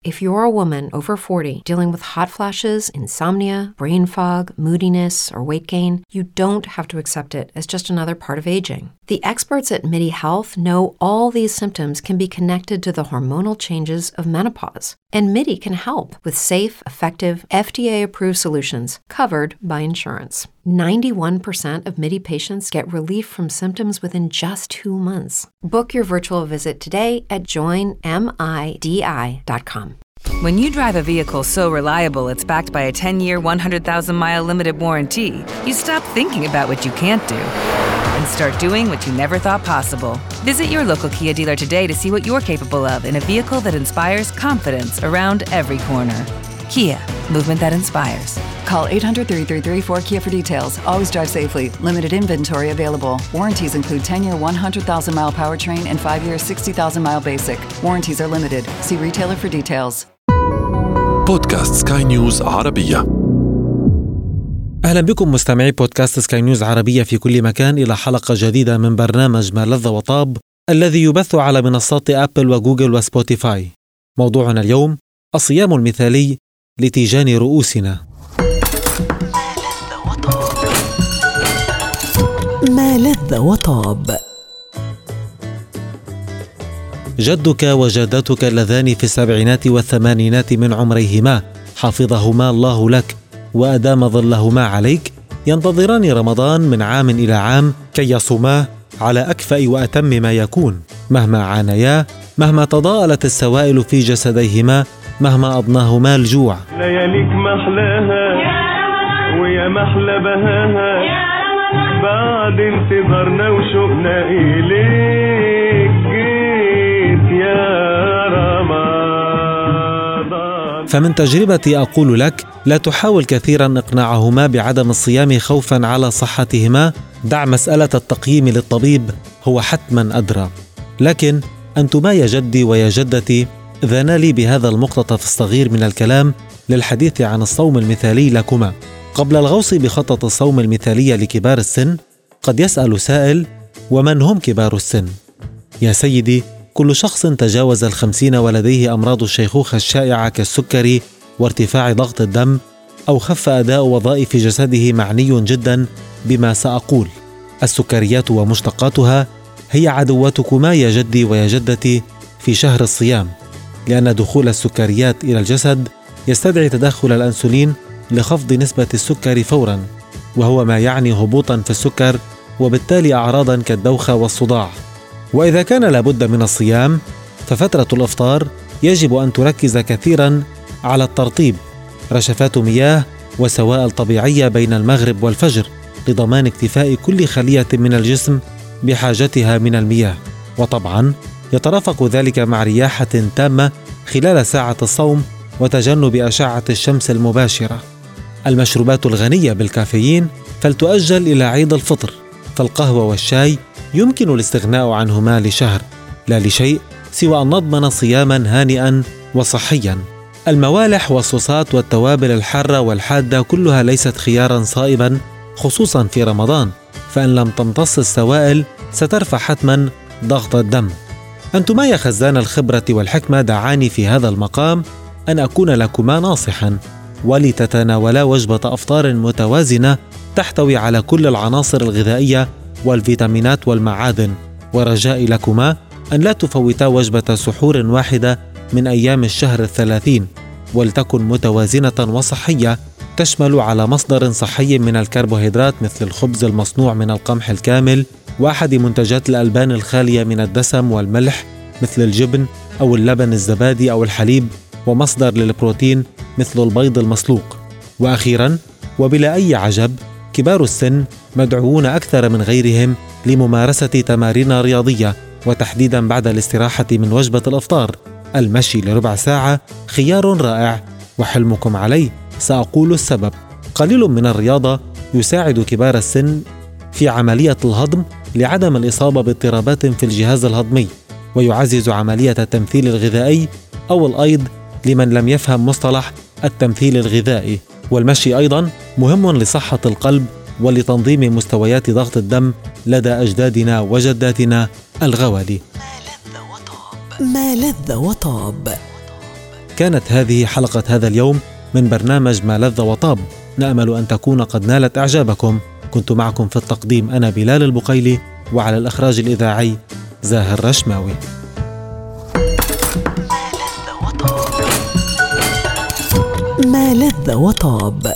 If you're a woman over 40 dealing with hot flashes, insomnia, brain fog, moodiness, or weight gain, you don't have to accept it as just another part of aging. The experts at MIDI Health know all these symptoms can be connected to the hormonal changes of menopause. And MIDI can help with safe, effective, FDA-approved solutions covered by insurance. 91% of MIDI patients get relief from symptoms within just 2 months. Book your virtual visit today at joinmidi.com. When you drive a vehicle so reliable it's backed by a 10-year, 100,000-mile limited warranty, you stop thinking about what you can't do and start doing what you never thought possible. Visit your local Kia dealer today to see what you're capable of in a vehicle that inspires confidence around every corner. Kia, movement that inspires. Call 800-333-4KIA for details. Always drive safely. Limited inventory available. Warranties include 10-year 100,000-mile powertrain and 5-year 60,000-mile basic. Warranties are limited. See retailer for details. بودكاست سكاي نيوز عربية. أهلا بكم مستمعي بودكاست سكاي نيوز عربية في كل مكان إلى حلقة جديدة من برنامج ما لذ وطاب الذي يبث على منصات أبل وجوجل وسبوتيفاي. موضوعنا اليوم الصيام المثالي لتيجان رؤوسنا. ما لذ وطاب. جدك وجدتك اللذان في السبعينات والثمانينات من عمريهما حفظهما الله لك وأدام ظلهما عليك ينتظران رمضان من عام إلى عام كي يصوماه على أكفأ وأتم ما يكون، مهما عانيا، مهما تضاءلت السوائل في جسديهما، مهما أضناهما الجوع. لياليك محلاها ويا محلى بهاها بعد انتظارنا وشوقنا إليك جيت يا رمضان. فمن تجربتي أقول لك لا تحاول كثيرا إقناعهما بعدم الصيام خوفا على صحتهما. دع مسألة التقييم للطبيب، هو حتما أدرى. لكن أنتما يا جدي ويا جدتي ذانا لي بهذا المقتطف الصغير من الكلام للحديث عن الصوم المثالي لكما. قبل الغوص بخطة الصوم المثالية لكبار السن، قد يسأل سائل: ومن هم كبار السن؟ يا سيدي، كل شخص تجاوز 50 ولديه أمراض الشيخوخة الشائعة كالسكري وارتفاع ضغط الدم، أو خف أداء وظائف جسده معني جدا بما سأقول. السكريات ومشتقاتها هي عدوتكما يا جدي ويا جدتي في شهر الصيام، لأن دخول السكريات إلى الجسد يستدعي تدخل الأنسولين لخفض نسبة السكر فورا، وهو ما يعني هبوطا في السكر وبالتالي أعراضا كالدوخة والصداع. وإذا كان لابد من الصيام ففترة الإفطار يجب أن تركز كثيرا على الترطيب، رشفات مياه وسوائل طبيعية بين المغرب والفجر لضمان اكتفاء كل خلية من الجسم بحاجتها من المياه. وطبعا يترافق ذلك مع رياحة تامة خلال ساعة الصوم وتجنب أشعة الشمس المباشرة. المشروبات الغنية بالكافيين فلتؤجل إلى عيد الفطر، فالقهوة والشاي يمكن الاستغناء عنهما لشهر، لا لشيء سوى أن نضمن صياما هانئا وصحيا. الموالح والصوصات والتوابل الحارة والحادة كلها ليست خيارا صائبا، خصوصا في رمضان، فإن لم تمتص السوائل سترفع حتما ضغط الدم. أنتما يا خزان الخبرة والحكمة دعاني في هذا المقام أن أكون لكما ناصحا، ولتتناولا وجبة أفطار متوازنة تحتوي على كل العناصر الغذائية والفيتامينات والمعادن. ورجائي لكما أن لا تفوتا وجبة سحور واحدة من أيام الشهر 30، ولتكن متوازنة وصحية تشمل على مصدر صحي من الكربوهيدرات مثل الخبز المصنوع من القمح الكامل، وأحد منتجات الألبان الخالية من الدسم والملح مثل الجبن أو اللبن الزبادي أو الحليب، ومصدر للبروتين مثل البيض المسلوق. وأخيرا وبلا أي عجب، كبار السن مدعوون أكثر من غيرهم لممارسة تمارين رياضية، وتحديدا بعد الاستراحة من وجبة الإفطار. المشي لربع ساعة خيار رائع، وحلمكم عليه سأقول السبب. قليل من الرياضة يساعد كبار السن في عملية الهضم لعدم الإصابة باضطرابات في الجهاز الهضمي، ويعزز عملية التمثيل الغذائي أو الأيض لمن لم يفهم مصطلح التمثيل الغذائي. والمشي أيضا مهم لصحة القلب ولتنظيم مستويات ضغط الدم لدى أجدادنا وجداتنا الغوالي. ما لذ وطاب. كانت هذه حلقة هذا اليوم من برنامج ما لذ وطاب. نأمل أن تكون قد نالت إعجابكم. كنت معكم في التقديم أنا بلال البقيلي، وعلى الإخراج الإذاعي زاهر رشماوي. ما لذ وطاب.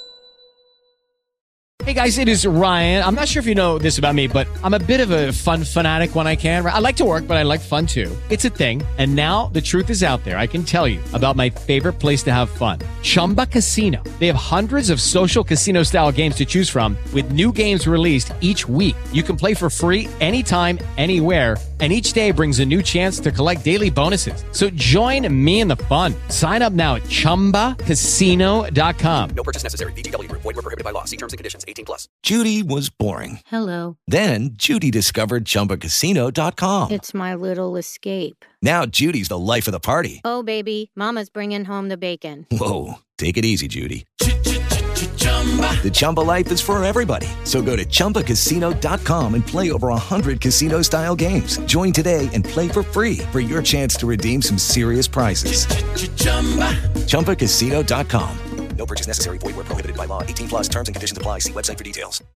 Hey guys, it is Ryan. I'm not sure if you know this about me, but I'm a bit of a fun fanatic when I can. I like to work, but I like fun too. It's a thing. And now the truth is out there. I can tell you about my favorite place to have fun. Chumba Casino. They have hundreds of social casino style games to choose from with new games released each week. You can play for free anytime, anywhere. And each day brings a new chance to collect daily bonuses. So join me in the fun. Sign up now at ChumbaCasino.com. No purchase necessary. VGW Group. Void where prohibited by law. See terms and conditions. 18+. Judy was boring. Hello. Then Judy discovered ChumbaCasino.com. It's my little escape. Now Judy's the life of the party. Oh, baby, mama's bringing home the bacon. Whoa, take it easy, Judy. The Chumba life is for everybody. So go to ChumbaCasino.com and play over 100 casino-style games. Join today and play for free for your chance to redeem some serious prizes. ChumbaCasino.com. No purchase necessary. Void where prohibited by law. 18+. Terms and conditions apply. See website for details.